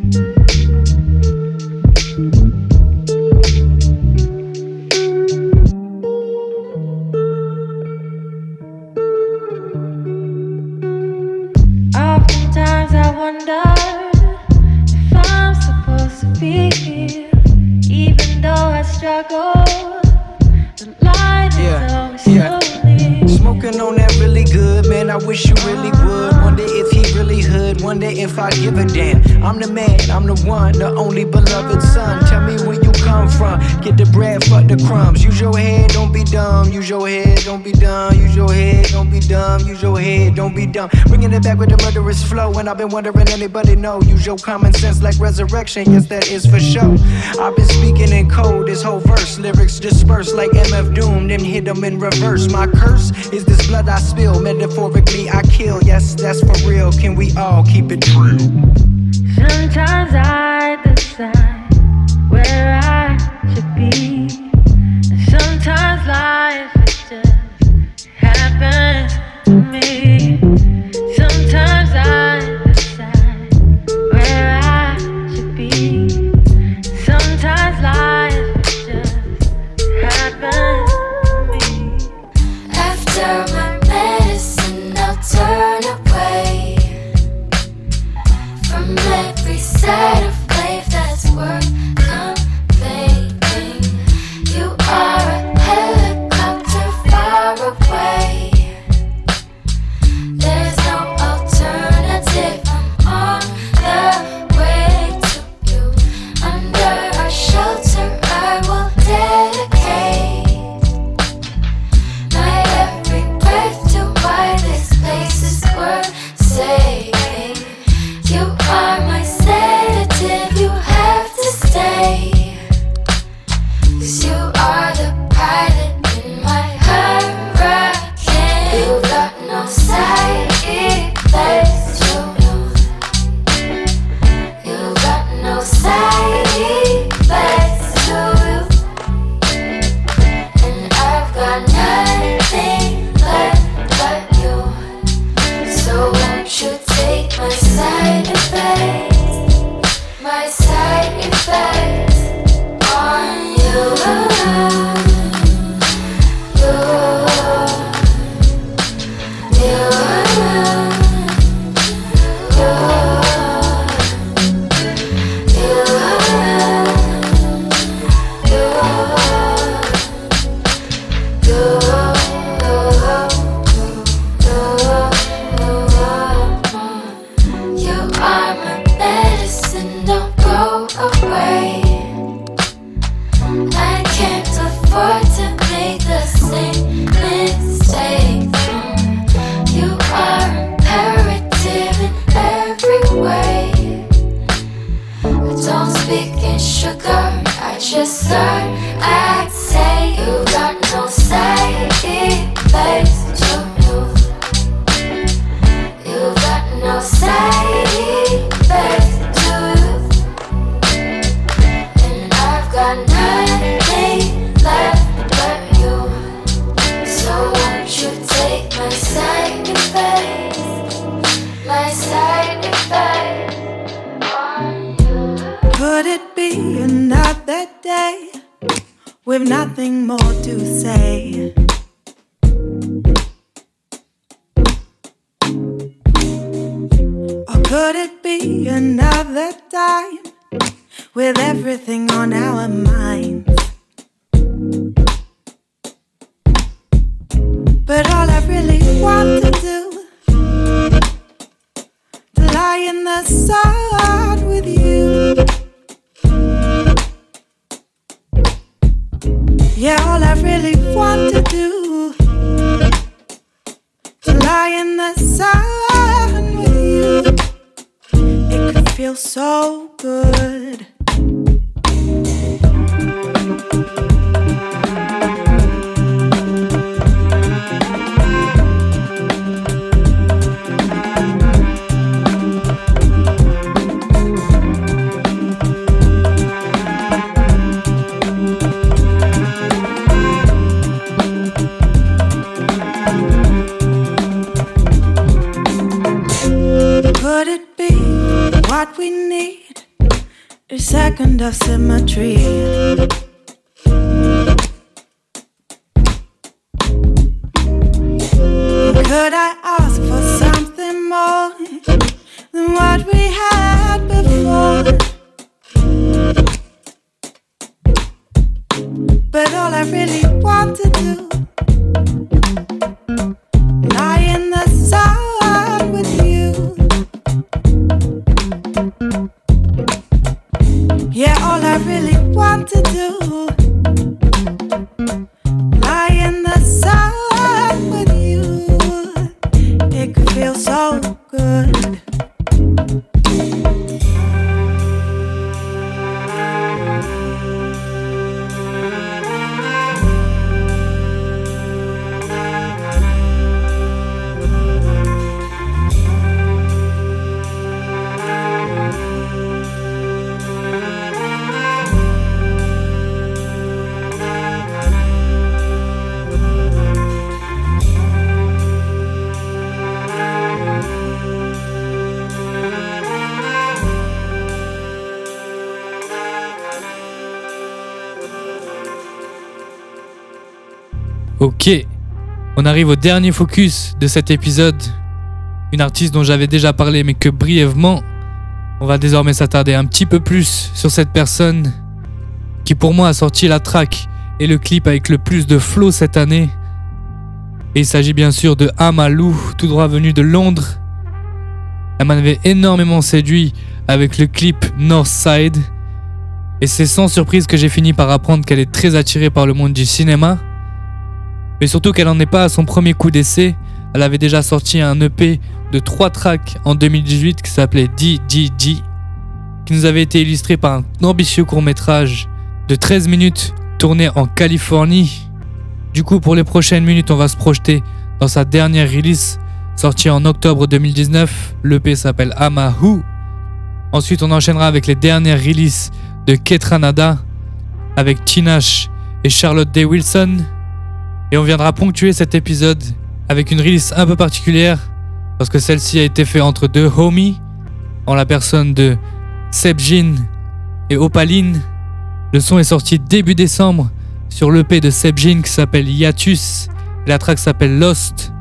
Oftentimes I wonder if I'm supposed to be here, even though I struggle. The light is always slowly. Smoking on that really good, man, I wish you really would. Wonder if he really hood, wonder if I give a damn. I'm the man, I'm the one, the only beloved son. Tell me where you come from, get the bread, fuck the crumbs. Use your head, don't be dumb, use your head, don't be dumb. Use your head, don't be dumb, use your head, don't be dumb. Bringing it back with the murderous flow, and I've been wondering anybody know. Use your common sense like resurrection, yes that is for sure. I've been speaking in code, this whole verse, lyrics dispersed like MF Doom, then hit them in reverse. My curse is this blood I spill, metaphorically I kill, yes that's for real. Can we all keep it true? Sometimes I decide where I should be, and sometimes life just happens to me. Sometimes I decide where I should be. Sometimes life just happens to me. After my medicine, I'll turn away from every side of be another day with nothing more to say? Or could it be another time with everything on our minds? But all I really want to do, to lie in the sun with you. Yeah, all I really want to do, to lie in the sun with you. It could feel so good. Could it be what we need? A second of symmetry. Could I ask for something more than what we had before? But all I really want to do, lie in the sun with you. Yeah, all I really want to do, lie in the sun with you. It could feel so good. Ok, on arrive au dernier focus de cet épisode. Une artiste dont j'avais déjà parlé mais que brièvement. On va désormais s'attarder un petit peu plus sur cette personne qui pour moi a sorti la track et le clip avec le plus de flow cette année. Et il s'agit bien sûr de Amahlou, tout droit venu de Londres. Elle m'avait énormément séduit avec le clip Northside. Et c'est sans surprise que j'ai fini par apprendre qu'elle est très attirée par le monde du cinéma. Mais surtout qu'elle n'en est pas à son premier coup d'essai. Elle avait déjà sorti un EP de 3 tracks en 2018 qui s'appelait DDD, qui nous avait été illustré par un ambitieux court-métrage de 13 minutes tourné en Californie. Du coup, pour les prochaines minutes, on va se projeter dans sa dernière release sortie en octobre 2019. L'EP s'appelle Amahlou. Ensuite, on enchaînera avec les dernières releases de Ketranada avec Tinashe et Charlotte Day Wilson. Et on viendra ponctuer cet épisode avec une release un peu particulière parce que celle-ci a été faite entre deux homies en la personne de Sebjin et Opaline. Le son est sorti début décembre sur l'EP de Sebjin qui s'appelle Hiatus et la track s'appelle Lost.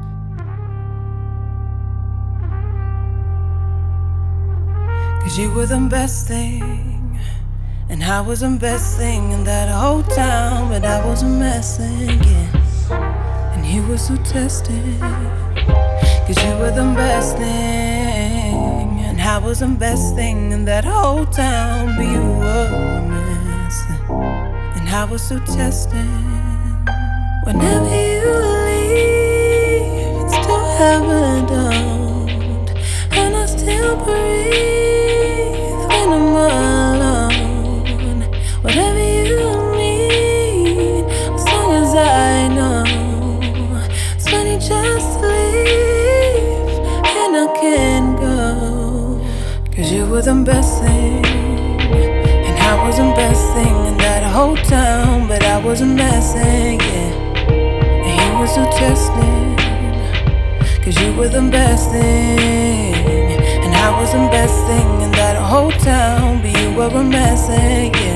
Cause you were the best thing, and I was the best thing in that whole town, but I was a mess again, and you were so tested. Cause you were the best thing, and I was the best thing in that whole town, but you were a mess, and I was so tested. Whenever you leave, it's to heaven, and I still breathe. I'm alone. Whatever you need, as long as I know. It's funny just to leave, and I can't go. Cause you were the best thing, and I was the best thing in that whole town, but I was a mess, yeah. And he was so tested. Cause you were the best thing, and I was the best thing in that whole town, but you were a mess, yeah.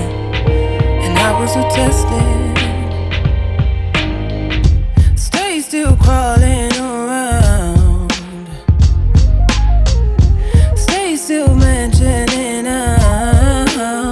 was so tested. Stay still crawling around. Stay still mentioning out.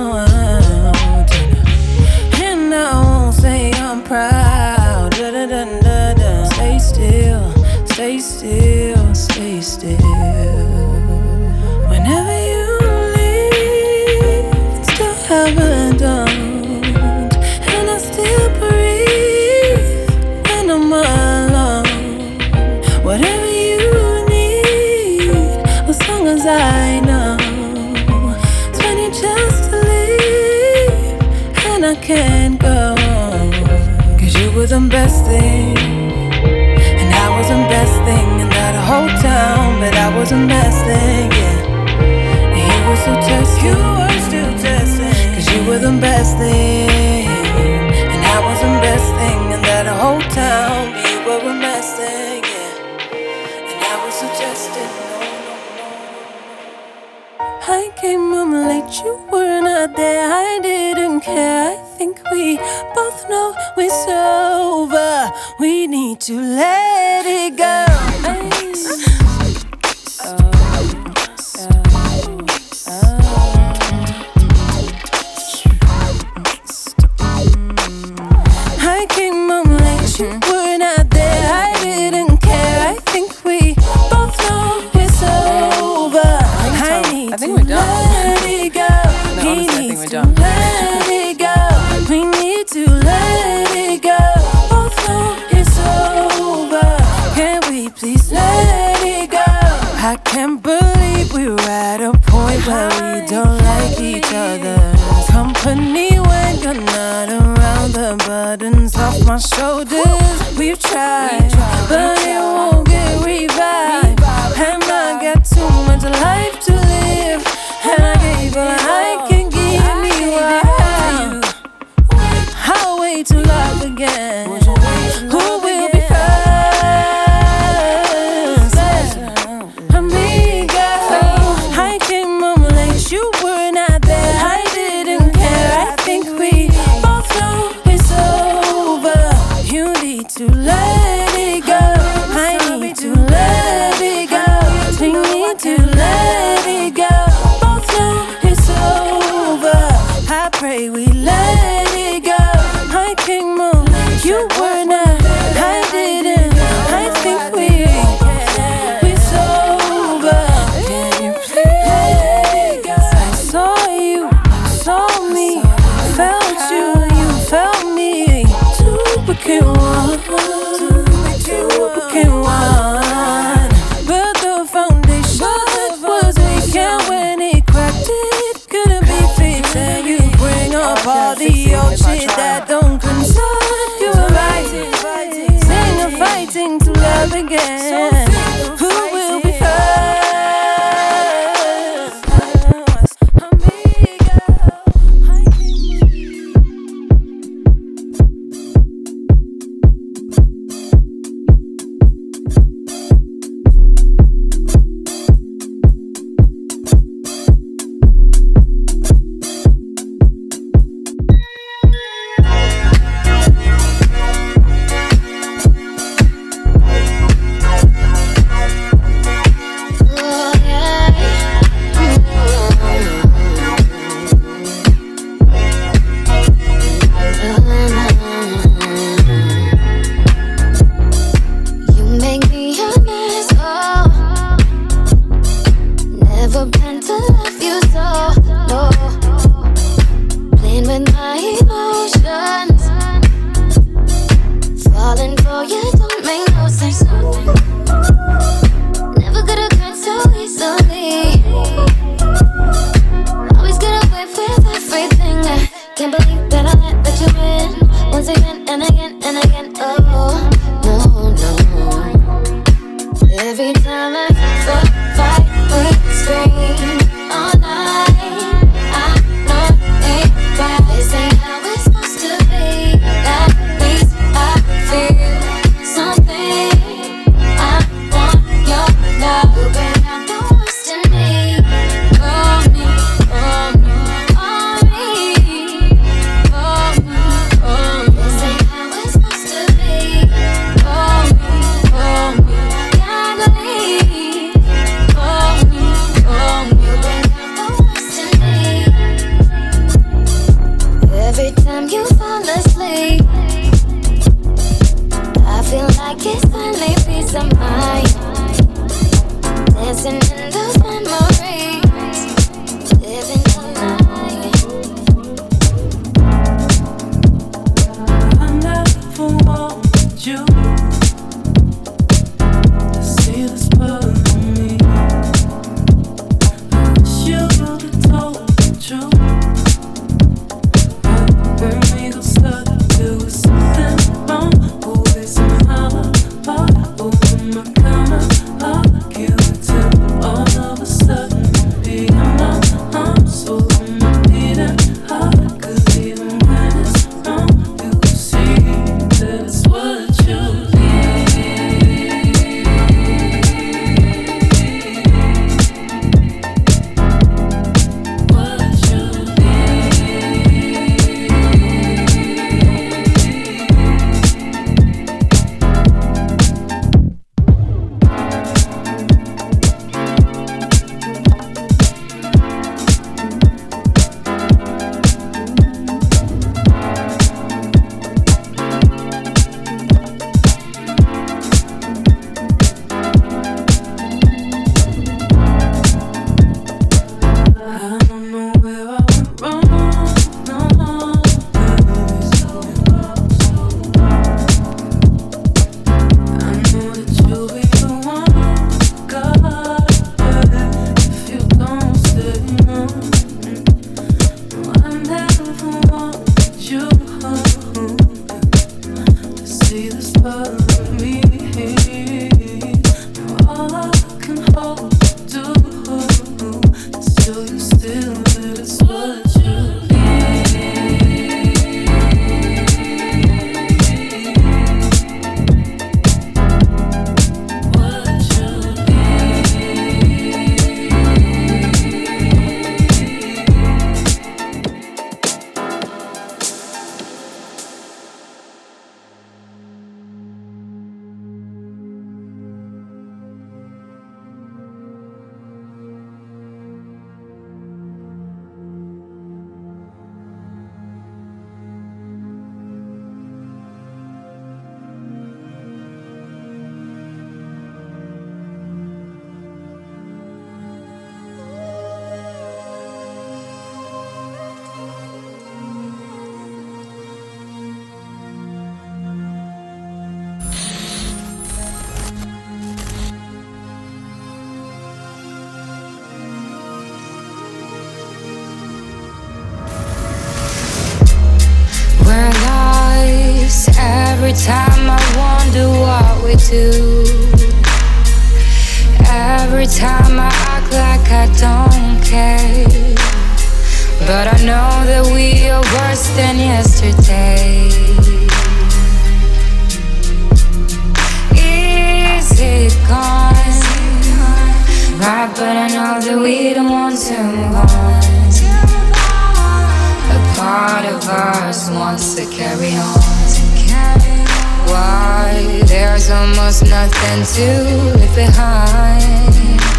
And I won't say I'm proud. Da-da-da-da-da. Stay still, stay still, stay still. Whenever you leave, it's still haven't done. And I still breathe when I'm alone. Whatever you need, as long as I know, it's when you just leave and I can't go. Cause you were the best thing, and I was the best thing in that whole town. But I was the best thing, yeah. And you were so testing, you were still testing. Cause you were the best thing, and I was the best thing in that whole town. But you were the best thing, yeah. And I was so testing. I came home late, you were not there. I didn't care. I think we both know it's over. We need to let it go. I came home late, you were not there. I didn't care. I think we both know it's over. I think we're done. Let it go. He needs to let it go. We need to let it go. Both know it's over. Can we please let it go? I can't believe we're at a point where we don't like each other's company when you're not around. The burdens off my shoulders. We've tried, but it won't get revived. And I got too much life to live, and I gave all I can give me. Why? I'll wait to love again. Who will be first? Amiga, I came home late, you were not there. I didn't care. I think we both know it's over. You need to let it go. I need to let it go. We need to let it go. Both know it's over. I pray we let it go. I came home, you were not. I didn't. I think it's over. Can you please let it go? I saw you, saw me, felt you, you felt me. Two became one, two became one. But the foundation was weak, and when it cracked, it couldn't be fixed. And you bring up all the old shit that don't concern you. Fighting, sing a fighting to love again. Who will be first? So Every time I wonder what we do. Every time I act like I don't care. But I know that we are worse than yesterday. Is it gone? Right, but I know that we don't want to move on. A part of us wants to carry on. Why? There's almost nothing to leave behind.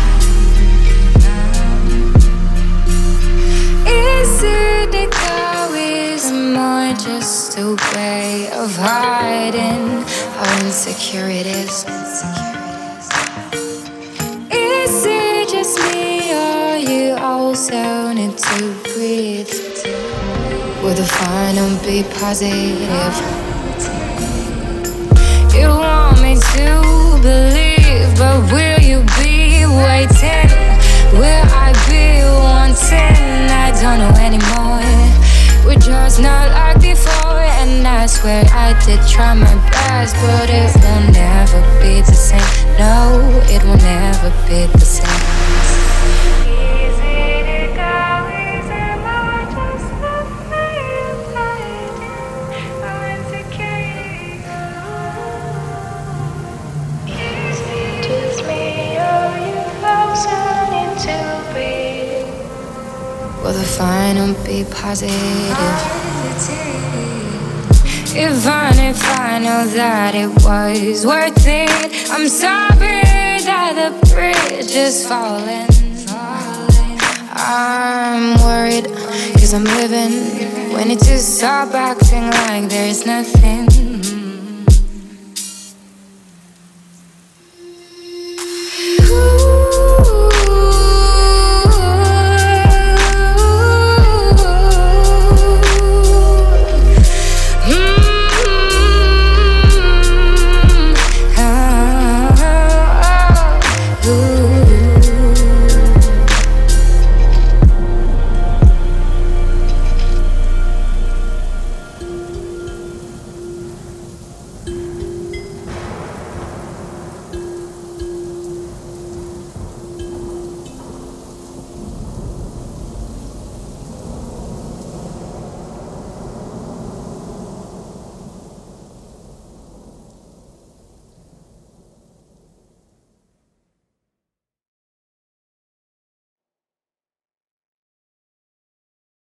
Is it egoism or just a way of hiding how insecure it is? Is it just me or you also need to breathe? Will the final be positive? You want me to believe, but will you be waiting? Will I be wanting? I don't know anymore. We're just not like before, and I swear I did try my best, but it will never be the same. No, it will never be the same. Will the final be positive? If I know that it was worth it, I'm sorry that the bridge is falling. I'm worried, cause I'm living. We need to stop acting like there's nothing.